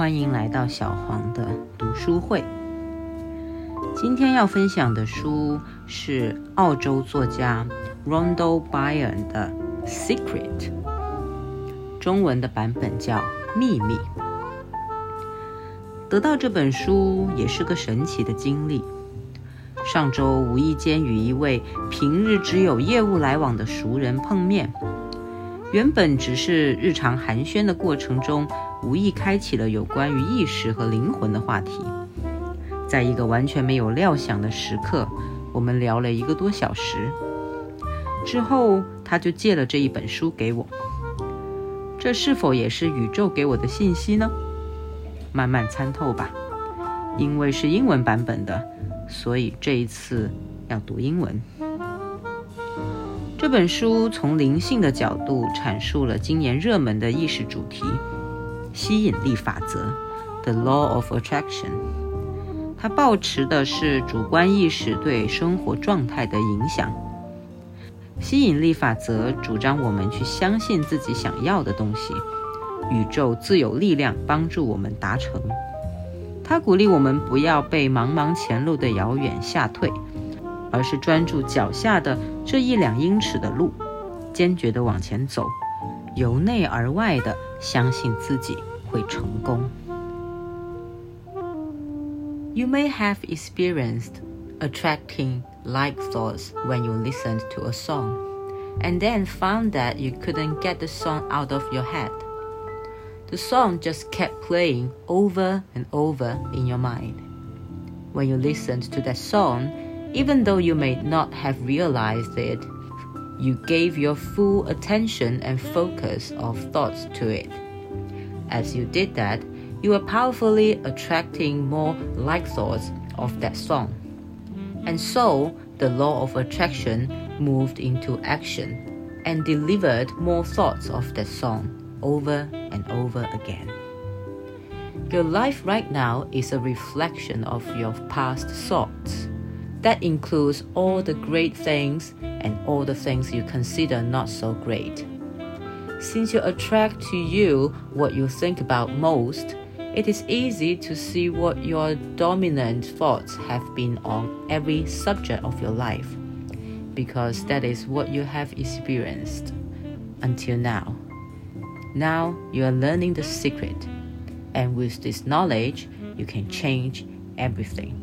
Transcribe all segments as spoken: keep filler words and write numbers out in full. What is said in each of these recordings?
欢迎来到小黄的读书会。今天要分享的书是澳洲作家 Rhonda Byrne 的 Secret， 中文的版本叫秘密。得到这本书也是个神奇的经历。上周无意间与一位平日只有业务来往的熟人碰面，原本只是日常寒暄的过程中，无意开启了有关于意识和灵魂的话题。在一个完全没有料想的时刻，我们聊了一个多小时。之后他就借了这一本书给我。这是否也是宇宙给我的信息呢？慢慢参透吧。因为是英文版本的，所以这一次要读英文。这本书从灵性的角度阐述了今年热门的意识主题——吸引力法则 The Law of Attraction。 它抱持的是主观意识对生活状态的影响。吸引力法则主张我们去相信自己想要的东西，宇宙自有力量帮助我们达成。它鼓励我们不要被茫茫前路的遥远吓退，而是专注脚下的这一两英尺的路，坚决地往前走，由内而外地相信自己会成功。You may have experienced attracting like thoughts when you listened to a song, and then found that you couldn't get the song out of your head. The song just kept playing over and over in your mind. When you listened to that song, even though you may not have realized it, you gave your full attention and focus of thoughts to it. As you did that, you were powerfully attracting more like thoughts of that song. And so, the law of attraction moved into action and delivered more thoughts of that song over and over again. Your life right now is a reflection of your past thoughts. That includes all the great things and all the things you consider not so great. Since you attract to you what you think about most, it is easy to see what your dominant thoughts have been on every subject of your life, because that is what you have experienced until now. Now you are learning the secret, and with this knowledge, you can change everything.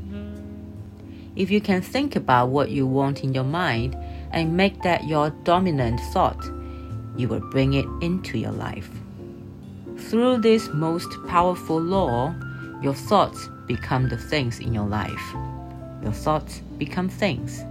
If you can think about what you want in your mind and make that your dominant thought, you will bring it into your life. Through this most powerful law, your thoughts become the things in your life. Your thoughts become things.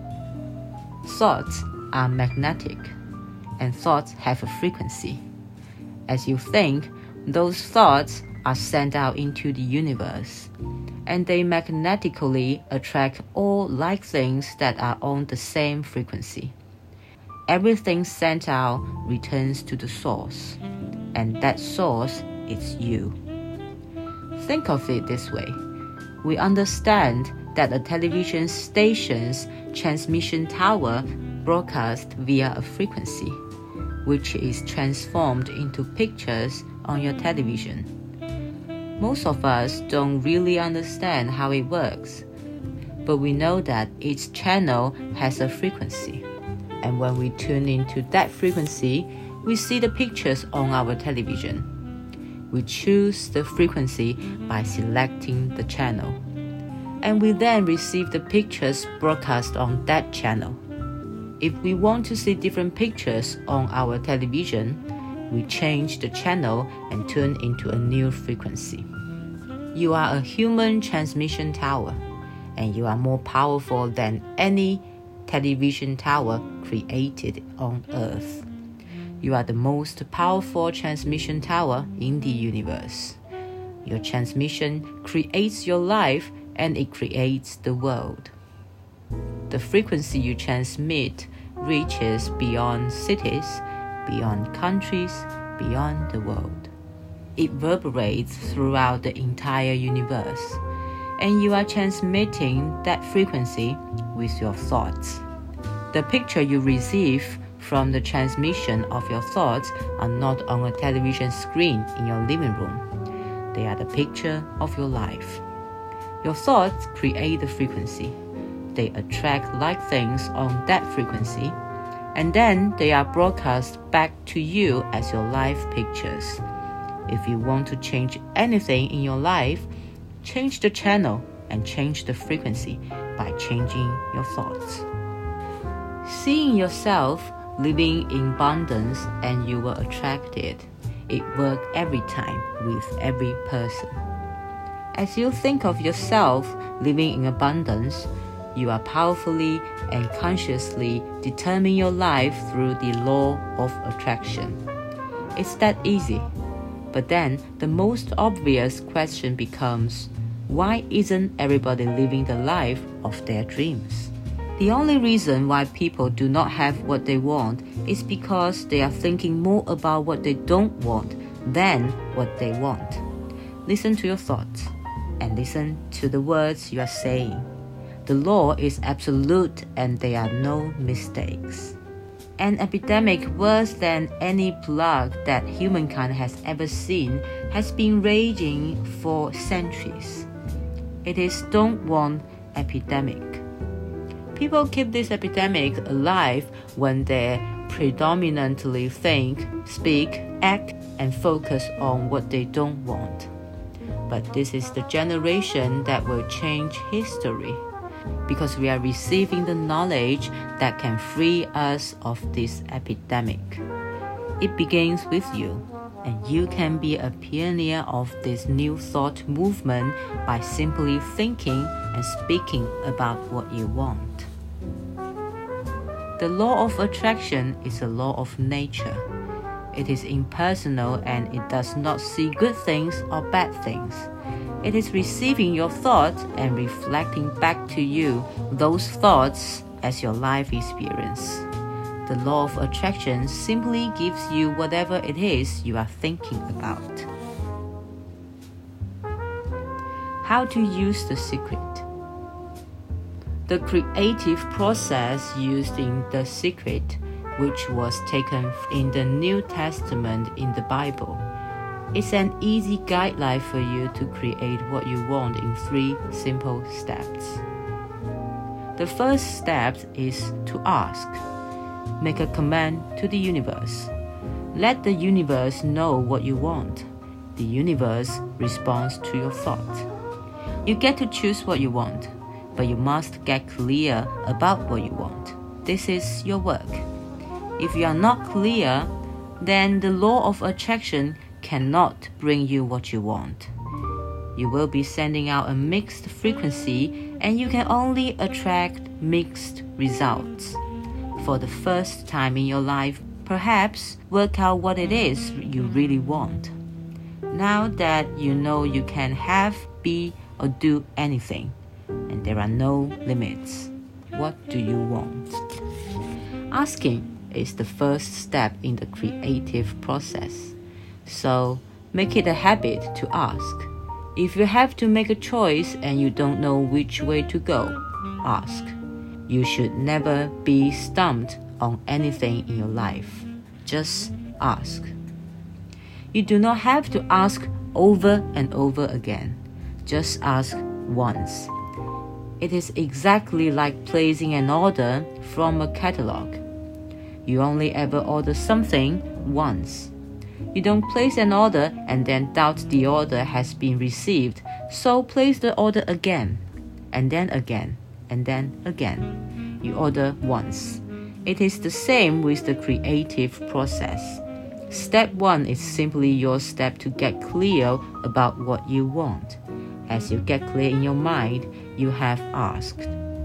Thoughts are magnetic, and thoughts have a frequency. As you think, those thoughts are sent out into the universe, and they magnetically attract all like things that are on the same frequency. Everything sent out returns to the source, and that source is you. Think of it this way. We understand that a television station's transmission tower broadcasts via a frequency, which is transformed into pictures on your television. Most of us don't really understand how it works, but we know that each channel has a frequency, and when we tune into that frequency, we see the pictures on our television. We choose the frequency by selecting the channel, and we then receive the pictures broadcast on that channel. If we want to see different pictures on our television, we change the channel and tune into a new frequency. You are a human transmission tower, and you are more powerful than any television tower created on Earth. You are the most powerful transmission tower in the universe. Your transmission creates your life, and it creates the world. The frequency you transmit reaches beyond cities, beyond countries, beyond the world. It reverberates throughout the entire universe, and you are transmitting that frequency with your thoughts. The picture you receive from the transmission of your thoughts are not on a television screen in your living room. They are the picture of your life. Your thoughts create the frequency. They attract like things on that frequency, and then they are broadcast back to you as your life pictures. If you want to change anything in your life, change the channel and change the frequency by changing your thoughts. Seeing yourself living in abundance and you will attract it. It works every time with every person. As you think of yourself living in abundance, you are powerfully and consciously determine your life through the law of attraction. It's that easy. But then the most obvious question becomes, why isn't everybody living the life of their dreams? The only reason why people do not have what they want is because they are thinking more about what they don't want than what they want. Listen to your thoughts and listen to the words you are saying. The law is absolute and there are no mistakes. An epidemic worse than any plague that humankind has ever seen has been raging for centuries. It is don't want epidemic. People keep this epidemic alive when they predominantly think, speak, act, and focus on what they don't want. But this is the generation that will change history, because we are receiving the knowledge that can free us of this epidemic. It begins with you, and you can be a pioneer of this new thought movement by simply thinking and speaking about what you want. The law of attraction is a law of nature. It is impersonal and it does not see good things or bad things. It is receiving your thoughts and reflecting back to you those thoughts as your life experience. The law of attraction simply gives you whatever it is you are thinking about. How to use the secret. The creative process used in The Secret, which was taken in the New Testament in the Bible, is an easy guideline for you to create what you want in three simple steps. The first step is to ask. Make a command to the universe. Let the universe know what you want. The universe responds to your thought. You get to choose what you want, but you must get clear about what you want. This is your work. If you are not clear, then the law of attraction cannot bring you what you want. You will be sending out a mixed frequency, and you can only attract mixed results. For the first time in your life, perhaps work out what it is you really want. Now that you know you can have, be, or do anything, and there are no limits, what do you want? Asking is the first step in the creative process. So make it a habit to ask. If you have to make a choice and you don't know which way to go, ask. You should never be stumped on anything in your life. Just ask. You do not have to ask over and over again. Just ask once. It is exactly like placing an order from a catalog. You only ever order something once. You don't place an order and then doubt the order has been received, so place the order again, and then again, and then again. You order once. It is the same with the creative process. Step one is simply your step to get clear about what you want. As you get clear in your mind, you have asked.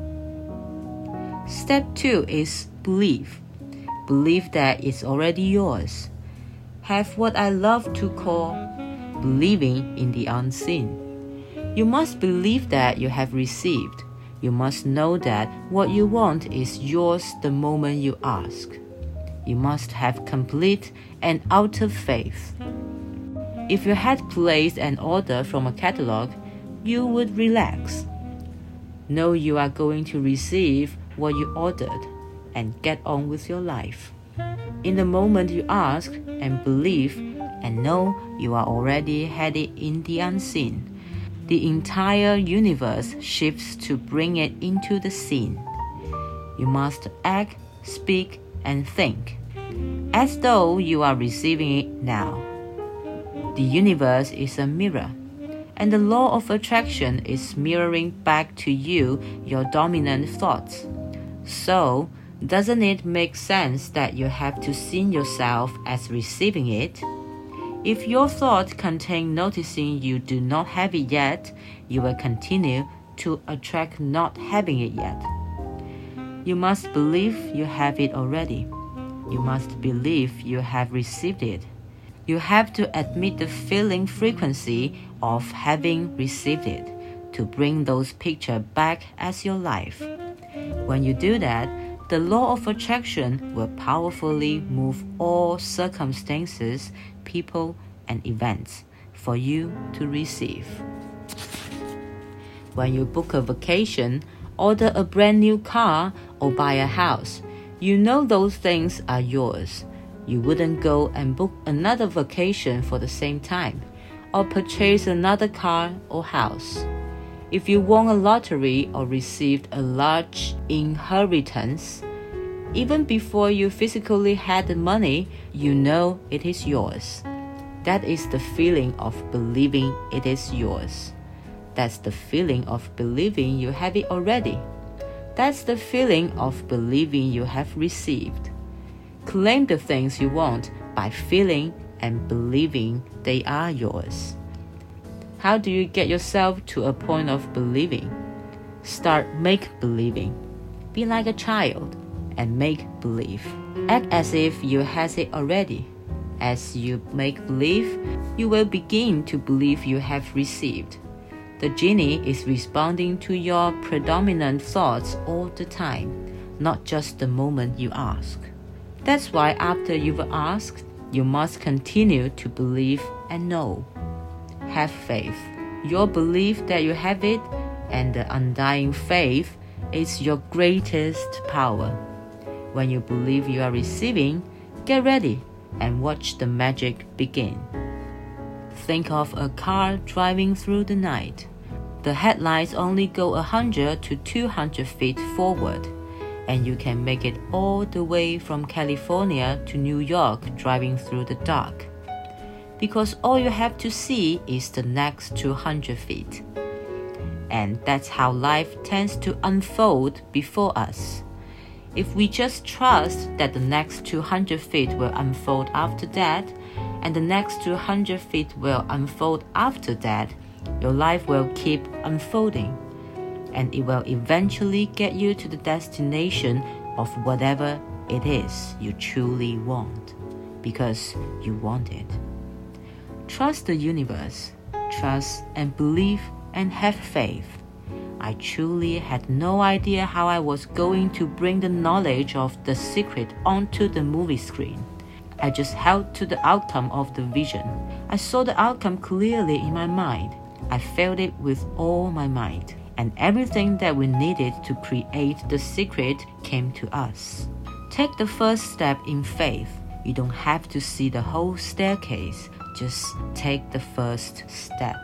Step two is believe. Believe that it's already yours. Have what I love to call believing in the unseen. You must believe that you have received. You must know that what you want is yours the moment you ask. You must have complete and utter faith. If you had placed an order from a catalog, you would relax. Know you are going to receive what you ordered and get on with your life. In the moment you ask and believe, and know you are already headed in the unseen. The entire universe shifts to bring it into the scene. You must act, speak, and think, as though you are receiving it now. The universe is a mirror, and the law of attraction is mirroring back to you your dominant thoughts. So, doesn't it make sense that you have to see yourself as receiving it? If your thoughts contain noticing you do not have it yet, you will continue to attract not having it yet. You must believe you have it already. You must believe you have received it. You have to admit the feeling frequency of having received it to bring those pictures back as your life. When you do that, the law of attraction will powerfully move all circumstances, people, and events for you to receive. When you book a vacation, order a brand new car, or buy a house, you know those things are yours. You wouldn't go and book another vacation for the same time, or purchase another car or house. If you won a lottery or received a large inheritance, even before you physically had the money, you know it is yours. That is the feeling of believing it is yours. That's the feeling of believing you have it already. That's the feeling of believing you have received. Claim the things you want by feeling and believing they are yours. How do you get yourself to a point of believing? Start make-believing. Be like a child and make believe. Act as if you have it already. As you make believe, you will begin to believe you have received. The genie is responding to your predominant thoughts all the time, not just the moment you ask. That's why after you've asked, you must continue to believe and know. Have faith. Your belief that you have it and the undying faith is your greatest power. When you believe you are receiving, get ready and watch the magic begin. Think of a car driving through the night. The headlights only go one hundred to two hundred feet forward, and you can make it all the way from California to New York driving through the dark. Because all you have to see is the next two hundred feet. And that's how life tends to unfold before us. If we just trust that the next two hundred feet will unfold after that, and the next two hundred feet will unfold after that, your life will keep unfolding, and it will eventually get you to the destination of whatever it is you truly want, because you want it. Trust the universe. Trust and believe and have faith. I truly had no idea how I was going to bring the knowledge of The Secret onto the movie screen. I just held to the outcome of the vision. I saw the outcome clearly in my mind. I felt it with all my might, and everything that we needed to create The Secret came to us. Take the first step in faith. You don't have to see the whole staircase. Just take the first step.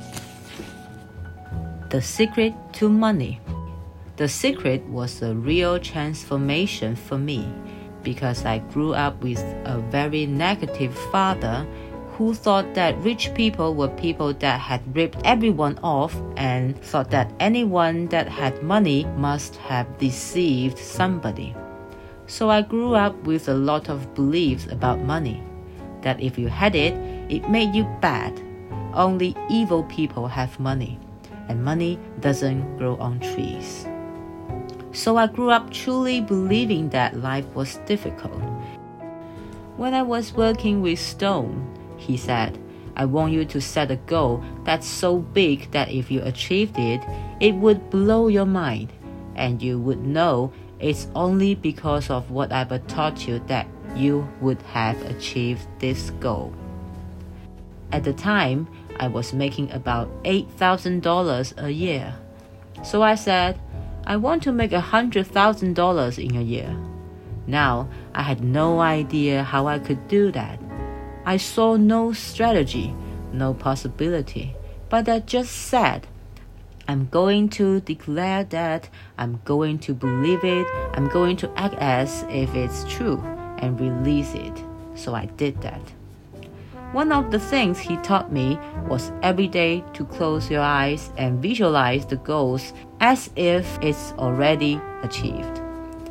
The Secret to Money. The Secret was a real transformation for me because I grew up with a very negative father who thought that rich people were people that had ripped everyone off and thought that anyone that had money must have deceived somebody. So I grew up with a lot of beliefs about money, that if you had it, it made you bad. Only evil people have money, and money doesn't grow on trees. So I grew up truly believing that life was difficult. When I was working with Stone, he said, I want you to set a goal that's so big that if you achieved it, it would blow your mind, and you would know it's only because of what I've taught you that you would have achieved this goal. At the time, I was making about eight thousand dollars a year. So I said, I want to make one hundred thousand dollars in a year. Now, I had no idea how I could do that. I saw no strategy, no possibility, but I just said, I'm going to declare that, I'm going to believe it, I'm going to act as if it's true and release it. So I did that. One of the things he taught me was every day to close your eyes and visualize the goals as if it's already achieved.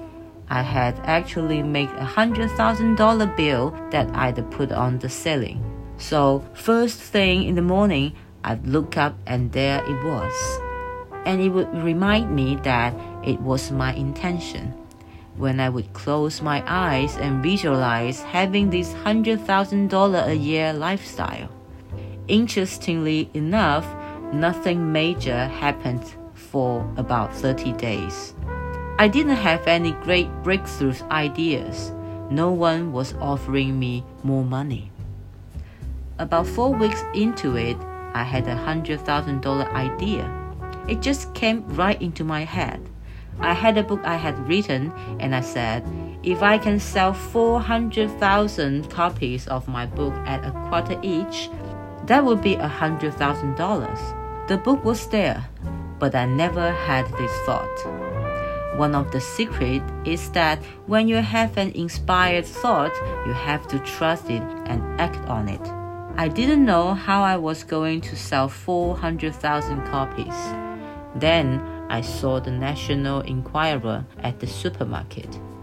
I had actually made a hundred thousand dollar bill that I'd put on the ceiling. So first thing in the morning, I'd look up and there it was. And it would remind me that it was my intention. When I would close my eyes and visualize having this one hundred thousand dollars a year lifestyle. Interestingly enough, nothing major happened for about thirty days. I didn't have any great breakthrough ideas. No one was offering me more money. About four weeks into it, I had a one hundred thousand dollars idea. It just came right into my head. I had a book I had written, and I said, if I can sell four hundred thousand copies of my book at a quarter each, that would be one hundred thousand dollars. The book was there, but I never had this thought. One of the secrets is that when you have an inspired thought, you have to trust it and act on it. I didn't know how I was going to sell four hundred thousand copies. Then I saw the National Enquirer at the supermarket.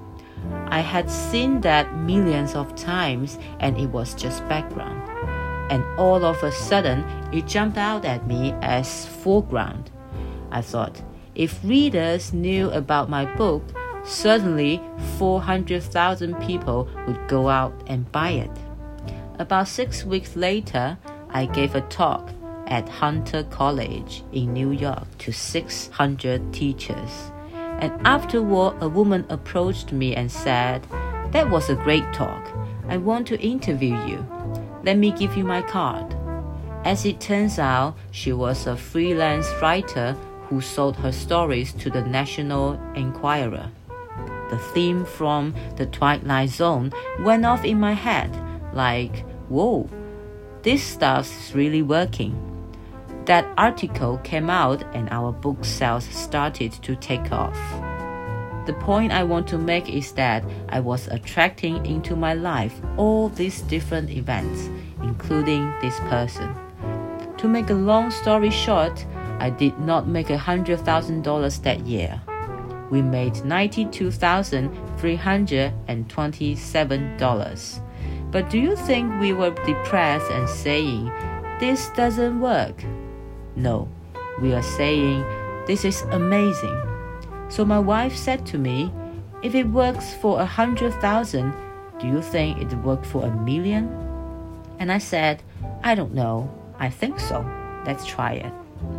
I had seen that millions of times and it was just background. And all of a sudden, it jumped out at me as foreground. I thought, if readers knew about my book, certainly four hundred thousand people would go out and buy it. About six weeks later, I gave a talk at Hunter College in New York to six hundred teachers. And afterward, a woman approached me and said, that was a great talk. I want to interview you. Let me give you my card. As it turns out, she was a freelance writer who sold her stories to the National Enquirer. The theme from The Twilight Zone went off in my head, like, whoa, this stuff's really working. That article came out and our book sales started to take off. The point I want to make is that I was attracting into my life all these different events, including this person. To make a long story short, I did not make one hundred thousand dollars that year. We made ninety-two thousand three hundred twenty-seven dollars. But do you think we were depressed and saying, this doesn't work? No, we are saying, this is amazing. So my wife said to me, if it works for a hundred thousand, do you think it worked for a million? And I said, I don't know. I think so. Let's try it.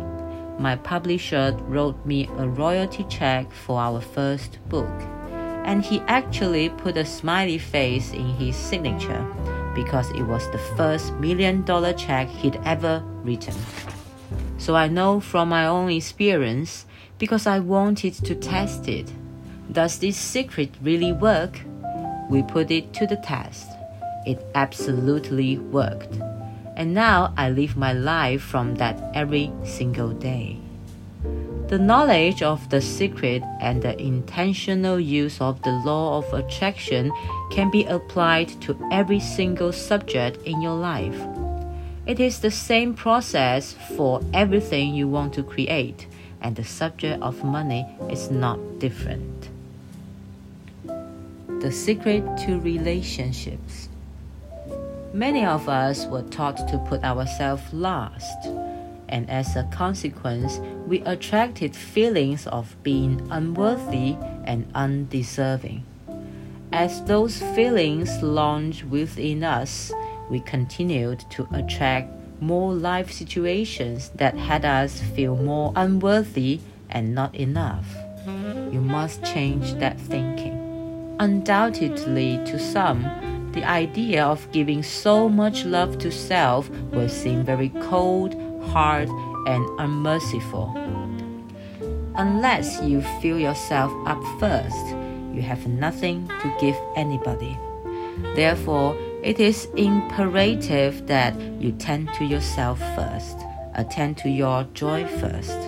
My publisher wrote me a royalty check for our first book. And he actually put a smiley face in his signature because it was the first million dollar check he'd ever written. So I know from my own experience, because I wanted to test it. Does this secret really work? We put it to the test. It absolutely worked. And now I live my life from that every single day. The knowledge of the secret and the intentional use of the law of attraction can be applied to every single subject in your life. It is the same process for everything you want to create, and the subject of money is not different. The secret to relationships. Many of us were taught to put ourselves last, and as a consequence, we attracted feelings of being unworthy and undeserving. As those feelings launched within us, we continued to attract more life situations that had us feel more unworthy and not enough. You must change that thinking. Undoubtedly, to some, the idea of giving so much love to self will seem very cold, hard, and unmerciful. Unless you fill yourself up first, you have nothing to give anybody. Therefore, It is imperative that you tend to yourself first, attend to your joy first.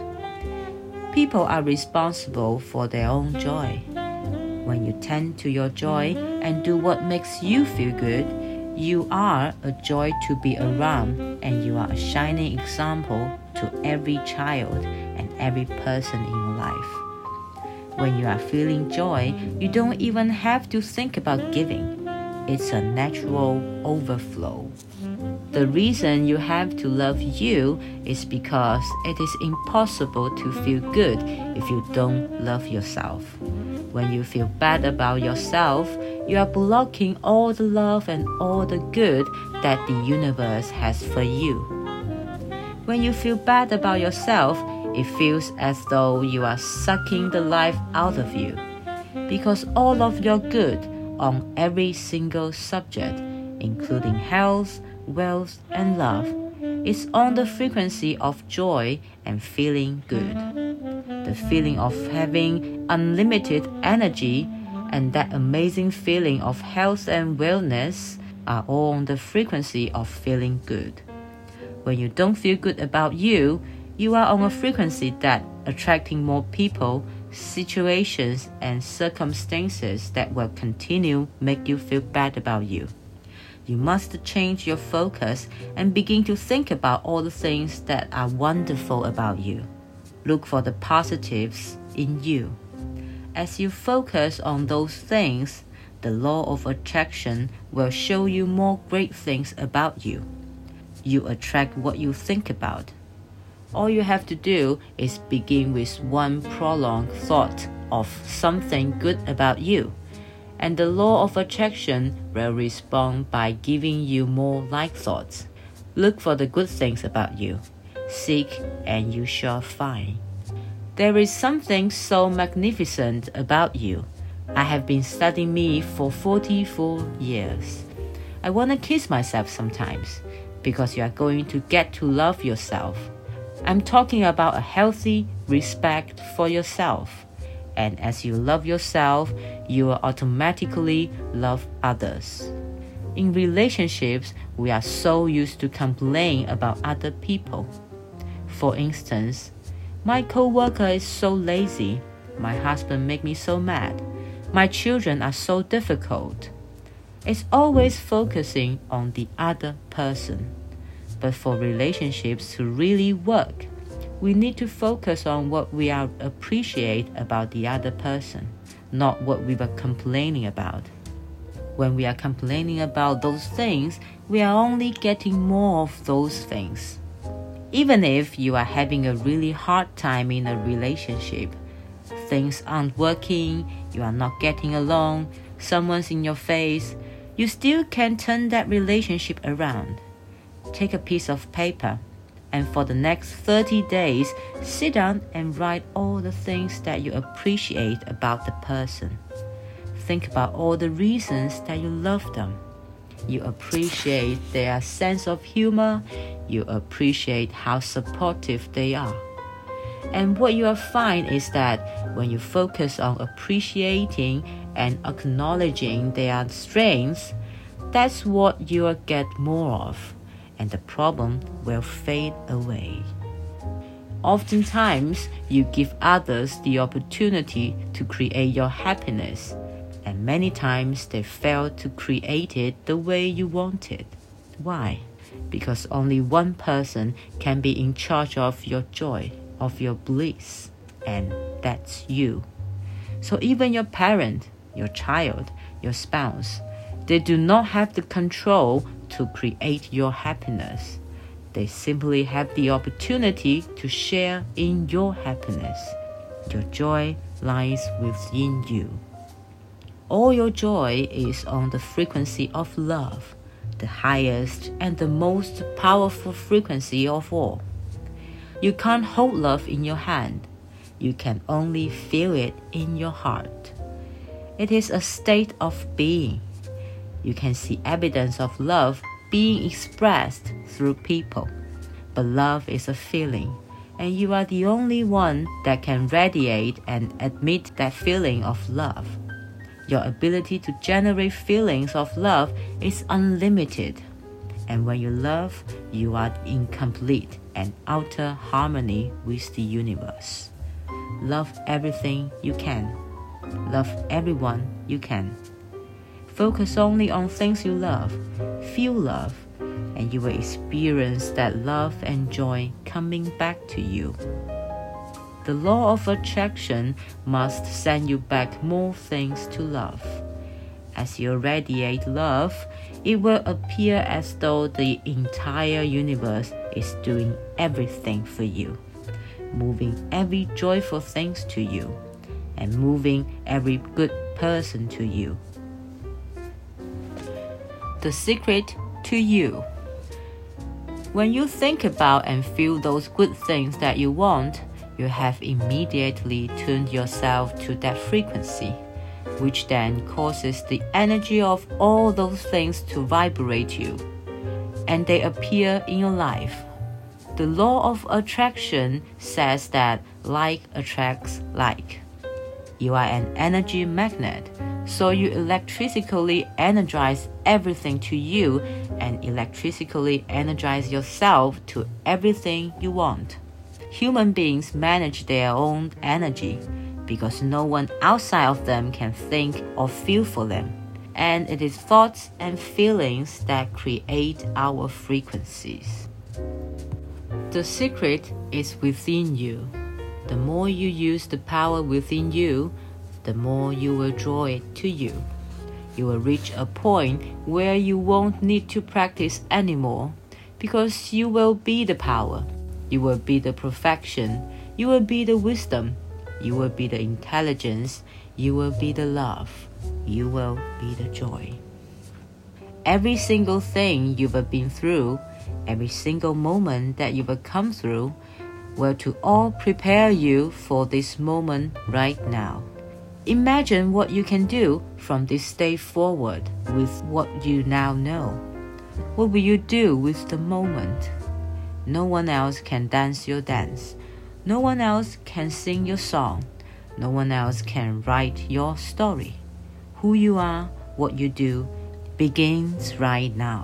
People are responsible for their own joy. When you tend to your joy and do what makes you feel good, you are a joy to be around, and you are a shining example to every child and every person in your life. When you are feeling joy, you don't even have to think about giving. It's a natural overflow. The reason you have to love you is because it is impossible to feel good if you don't love yourself. When you feel bad about yourself, you are blocking all the love and all the good that the universe has for you. When you feel bad about yourself, it feels as though you are sucking the life out of you, because all of your good on every single subject, including health, wealth, and love, is on the frequency of joy and feeling good. The feeling of having unlimited energy and that amazing feeling of health and wellness are all on the frequency of feeling good. When you don't feel good about you, you are on a frequency that attracting more people, situations, and circumstances that will continue make you feel bad about you. You must change your focus and begin to think about all the things that are wonderful about you. Look for the positives in you. As you focus on those things, the law of attraction will show you more great things about you. You attract what you think about. All you have to do is begin with one prolonged thought of something good about you, and the law of attraction will respond by giving you more like thoughts. Look for the good things about you. Seek and you shall find. There is something so magnificent about you. I have been studying me for forty-four years. I want to kiss myself sometimes, because you are going to get to love yourself. I'm talking about a healthy respect for yourself. And as you love yourself, you will automatically love others. In relationships, we are so used to complain about other people. For instance, my coworker is so lazy. My husband makes me so mad. My children are so difficult. It's always focusing on the other person. But for relationships to really work, we need to focus on what we are appreciate about the other person, not what we were complaining about. When we are complaining about those things, we are only getting more of those things. Even if you are having a really hard time in a relationship, things aren't working, you are not getting along, someone's in your face, you still can turn that relationship around. Take a piece of paper, and for the next thirty days, sit down and write all the things that you appreciate about the person. Think about all the reasons that you love them. You appreciate their sense of humor. You appreciate how supportive they are. And what you will find is that when you focus on appreciating and acknowledging their strengths, that's what you will get more of, and the problem will fade away. Oftentimes, you give others the opportunity to create your happiness, and many times they fail to create it the way you want it. Why? Because only one person can be in charge of your joy, of your bliss, and that's you. So even your parent, your child, your spouse, they do not have the control to create your happiness. They simply have the opportunity to share in your happiness. Your joy lies within you. All your joy is on the frequency of love, the highest and the most powerful frequency of all. You can't hold love in your hand. You can only feel it in your heart. It is a state of being. You can see evidence of love being expressed through people. But love is a feeling, and you are the only one that can radiate and admit that feeling of love. Your ability to generate feelings of love is unlimited. And when you love, you are in complete and utter harmony with the universe. Love everything you can. Love everyone you can. Focus only on things you love. Feel love, and you will experience that love and joy coming back to you. The law of attraction must send you back more things to love. As you radiate love, it will appear as though the entire universe is doing everything for you, moving every joyful things to you, and moving every good person to you. The secret to you. When you think about and feel those good things that you want, you have immediately tuned yourself to that frequency, which then causes the energy of all those things to vibrate you, and they appear in your life. The law of attraction says that like attracts like. You are an energy magnet, so you electrically energize everything to you and electrically energize yourself to everything you want. Human beings manage their own energy because no one outside of them can think or feel for them. And it is thoughts and feelings that create our frequencies. The secret is within you. The more you use the power within you, the more you will draw it to you. You will reach a point where you won't need to practice anymore because you will be the power. You will be the perfection. You will be the wisdom. You will be the intelligence. You will be the love. You will be the joy. Every single thing you've been through, every single moment that you've come through, will to all prepare you for this moment right now. Imagine what you can do from this day forward with what you now know. What will you do with the moment? No one else can dance your dance. No one else can sing your song. No one else can write your story. Who you are, what you do, begins right now.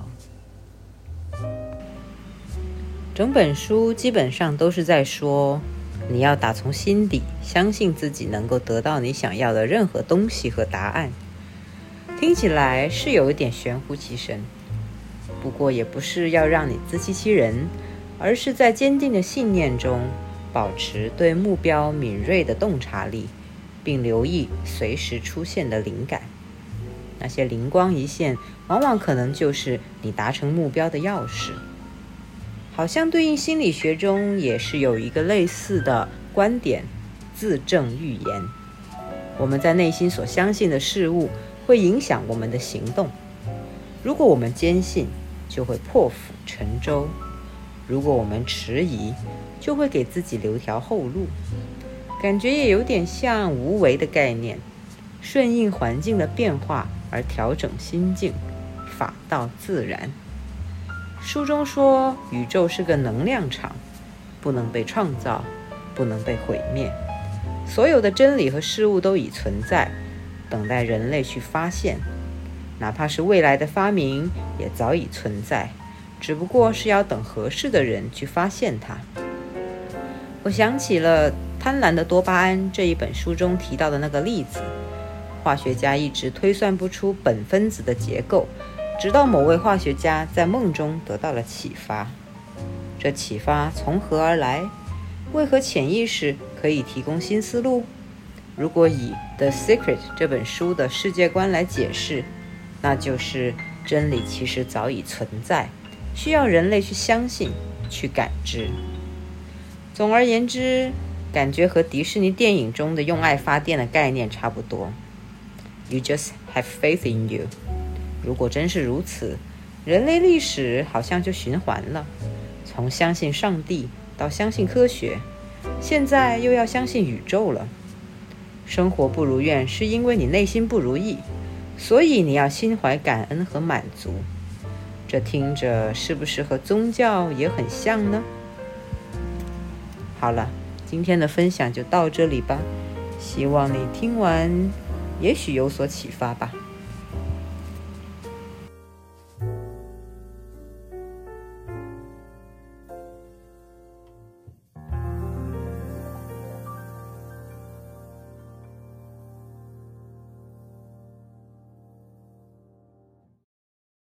整本书基本上都是在说，你要打从心底相信自己能够得到你想要的任何东西和答案。听起来是有一点玄乎其神，不过也不是要让你自欺欺人，而是在坚定的信念中保持对目标敏锐的洞察力，并留意随时出现的灵感。那些灵光一现，往往可能就是你达成目标的钥匙。好像对应心理学中也是有一个类似的观点，自证预言。我们在内心所相信的事物会影响我们的行动。如果我们坚信，就会破釜沉舟；如果我们迟疑，就会给自己留条后路。感觉也有点像无为的概念，顺应环境的变化而调整心境，法道自然。书中说，宇宙是个能量场，不能被创造，不能被毁灭。所有的真理和事物都已存在，等待人类去发现。哪怕是未来的发明，也早已存在，只不过是要等合适的人去发现它。我想起了《贪婪的多巴胺》这一本书中提到的那个例子，化学家一直推算不出苯分子的结构，直到某位化学家在梦中得到了启发。这启发从何而来？为何潜意识可以提供新思路？如果以《The Secret》这本书的世界观来解释，那就是真理其实早已存在，需要人类去相信，去感知。总而言之，感觉和迪士尼电影中的用爱发电的概念差不多。You just have faith in you。如果真是如此，人类历史好像就循环了，从相信上帝到相信科学，现在又要相信宇宙了。生活不如愿是因为你内心不如意，所以你要心怀感恩和满足。这听着是不是和宗教也很像呢？好了，今天的分享就到这里吧，希望你听完也许有所启发吧。